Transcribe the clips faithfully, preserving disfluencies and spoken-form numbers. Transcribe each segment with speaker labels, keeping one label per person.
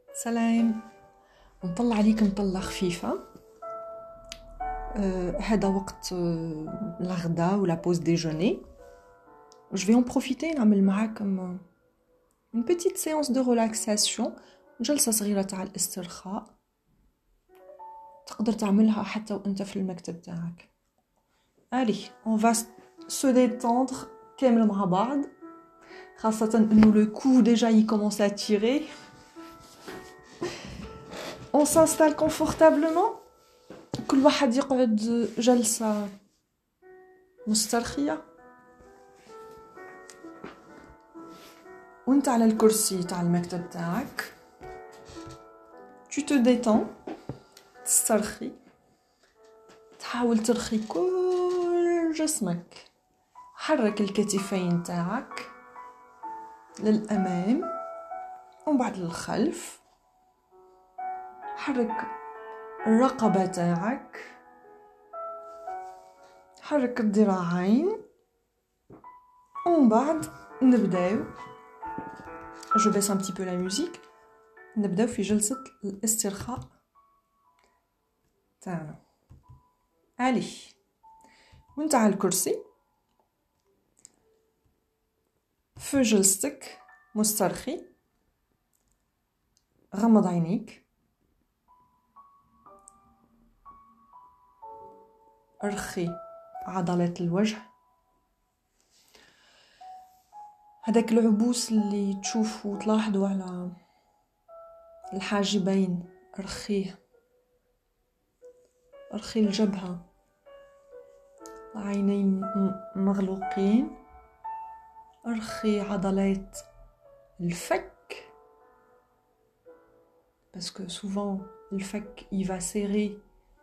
Speaker 1: سلام. نطلع عليك مطلة خفيفة. euh, هذا وقت euh, الغداء ولا بوز ديجوني. Je vais en profiter نعمل معاكم une petite séance de relaxation. جلسة صغيرة تاع الاسترخاء تقدر تعملها حتى وانت في المكتب تاعك. Allez, on va se détendre كامل مع بعض، خاصة انه le cou déjà il commence à tirer. On s'installe confortablement. كل واحد يقعد جلسة مسترخية، وانت على الكرسي تاع المكتب تاعك. tu te détends، تسترخي، تحاول ترخي كل جسمك. حرك الكتفين تاعك للأمام ومن بعد للخلف. حرك الرقبة تاعك، حرك الذراعين، ومن بعد نبداو. je baisse un petit peu la musique. نبداو في جلسة الاسترخاء تاعنا. علي وانت على الكرسي في جلستك مسترخي، غمض عينيك، ارخي عضلات الوجه. هذاك العبوس اللي تشوفوا تلاحظوا على الحاجبين ارخيه، ارخي الجبهة، عينين مغلوقين، ارخي عضلات الفك parce que souvent الفك il va serrer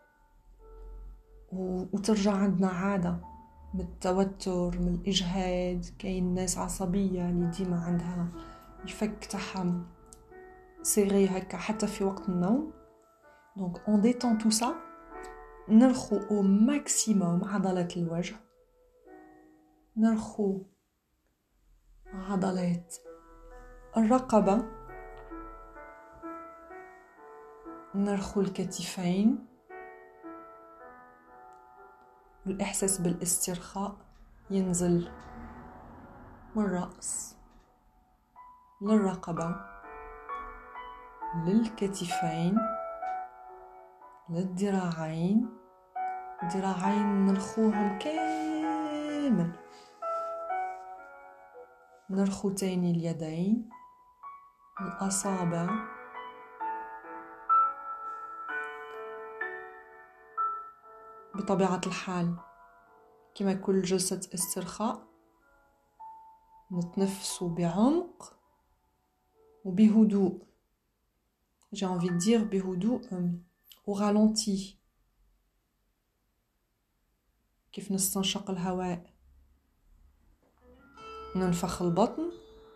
Speaker 1: وترجع عندنا عادة من التوتر، من الإجهاد. كاين ناس عصبية اللي ديما عندها الفك تاعها سيري هكا حتى في وقت النوم. donc on détend tout ça. نرخو au maximum عضلات الوجه، نرخو عضلات الرقبة، نرخو الكتفين. الإحساس بالاسترخاء ينزل من الرأس للرقبة للكتفين للذراعين. الذراعين نرخوهم كامل، نرخو تاني اليدين، الأصابع، بطبيعة الحال كما كل جلسة استرخاء نتنفسوا بعمق وبهدوء. j'ai envie de dire بهدوء au ralenti، كيف نستنشق الهواء ننفخ البطن،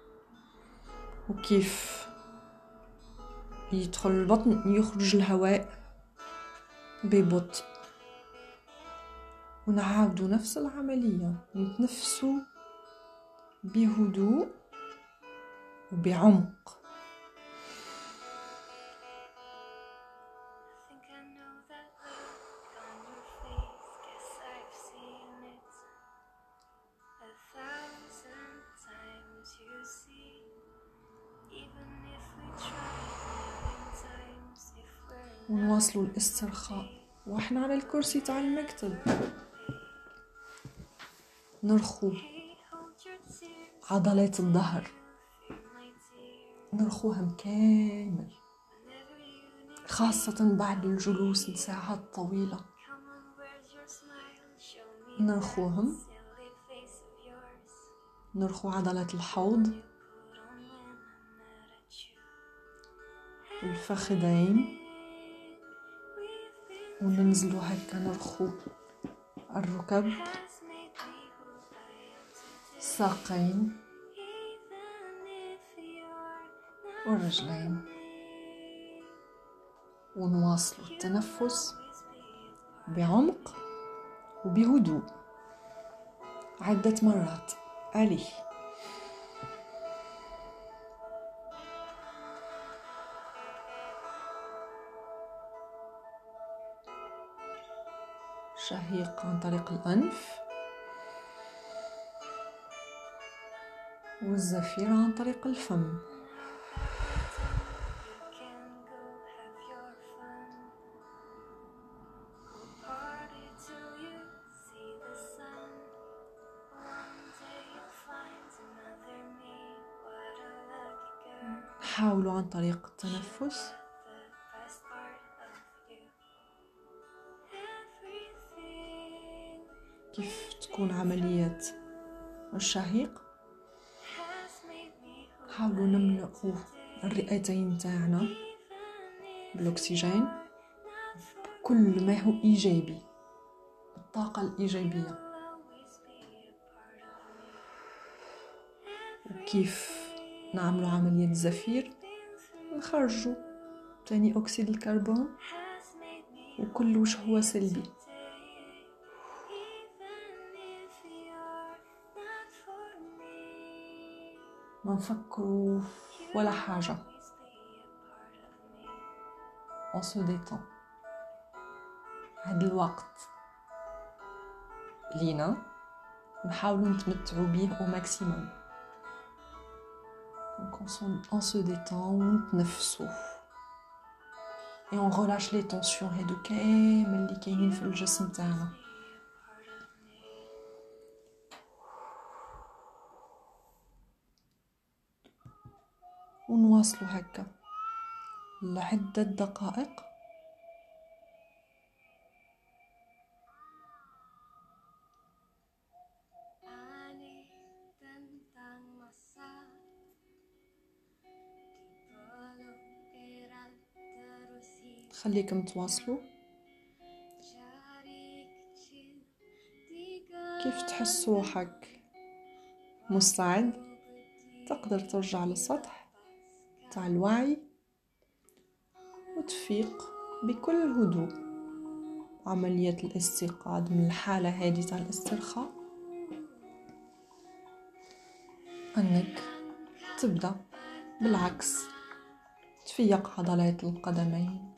Speaker 1: وكيف يدخل البطن يخرج الهواء ببطء. ونعاودوا نفس العملية، نتنفسوا بهدوء وبعمق. ونواصلوا الاسترخاء واحنا على الكرسي تاع المكتب. نرخو عضلات الظهر، نرخوهم كامل، خاصة بعد الجلوس لساعات طويلة. نرخوهم، نرخو عضلات الحوض، الفخذين، وننزلوا هكا نرخو الركب، الساقين والرجلين. ونواصلوا التنفس بعمق وبهدوء عدة مرات. عليه شهيق عن طريق الأنف، والزفير عن طريق الفم. حاولوا عن طريق التنفس كيف تكون عملية الشهيق. حاولوا نملؤوا الرئتين تاعنا بالأكسجين بكل ما هو إيجابي، بالطاقة الإيجابية. وكيف نعملوا عملية الزفير، نخرجوا ثاني أكسيد الكربون وكل وش هو سلبي. ما نفكروا ولا حاجة، on se détend. هاد الوقت لينا نحاولوا نتمتعوا به au maximum. Donc on se détend ونتنفسوا et on relâche les tensions هادو كامل اللي كاينين في الجسم تاعنا. ونواصلوا هكا لعدة دقائق. خليكم تواصلوا. كيف تحس روحك مستعد، تقدر ترجع للسطح تاع الوعي وتفيق بكل هدوء. عملية الاستيقاظ من الحالة هذه تاع الاسترخاء أنك تبدأ بالعكس، تفيق عضلات القدمين،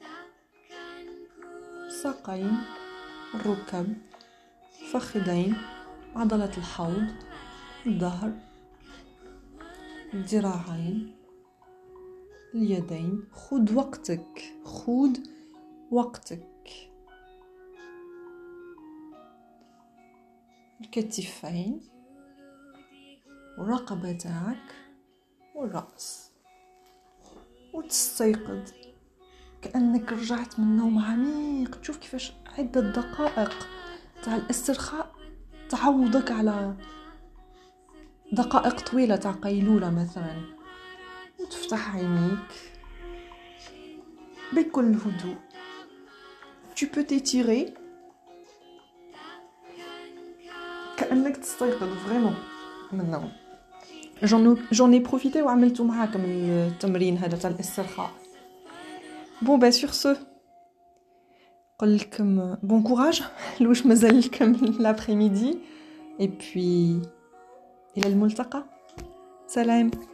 Speaker 1: الساقين، الركب، الفخذين، عضلة الحوض، الظهر، الذراعين، اليدين. خذ وقتك، خذ وقتك. الكتفين والرقبة تاعك والرأس، وتستيقظ كأنك رجعت من نوم عميق. تشوف كيفاش عدة دقائق تاع الاسترخاء تعوضك على دقائق طويلة تاع قيلولة مثلا، وتفتح عينيك بكل هدوء. tu peux t'étirer كأنك تستيقظ فريمون من النوم. j'en ai profité وعملته معاكم التمرين هذا تاع الاسترخاء. bon bah sur ce قل لكم bon courage لوش مازال لكم l'après-midi et puis إلى الملتقى. سلام.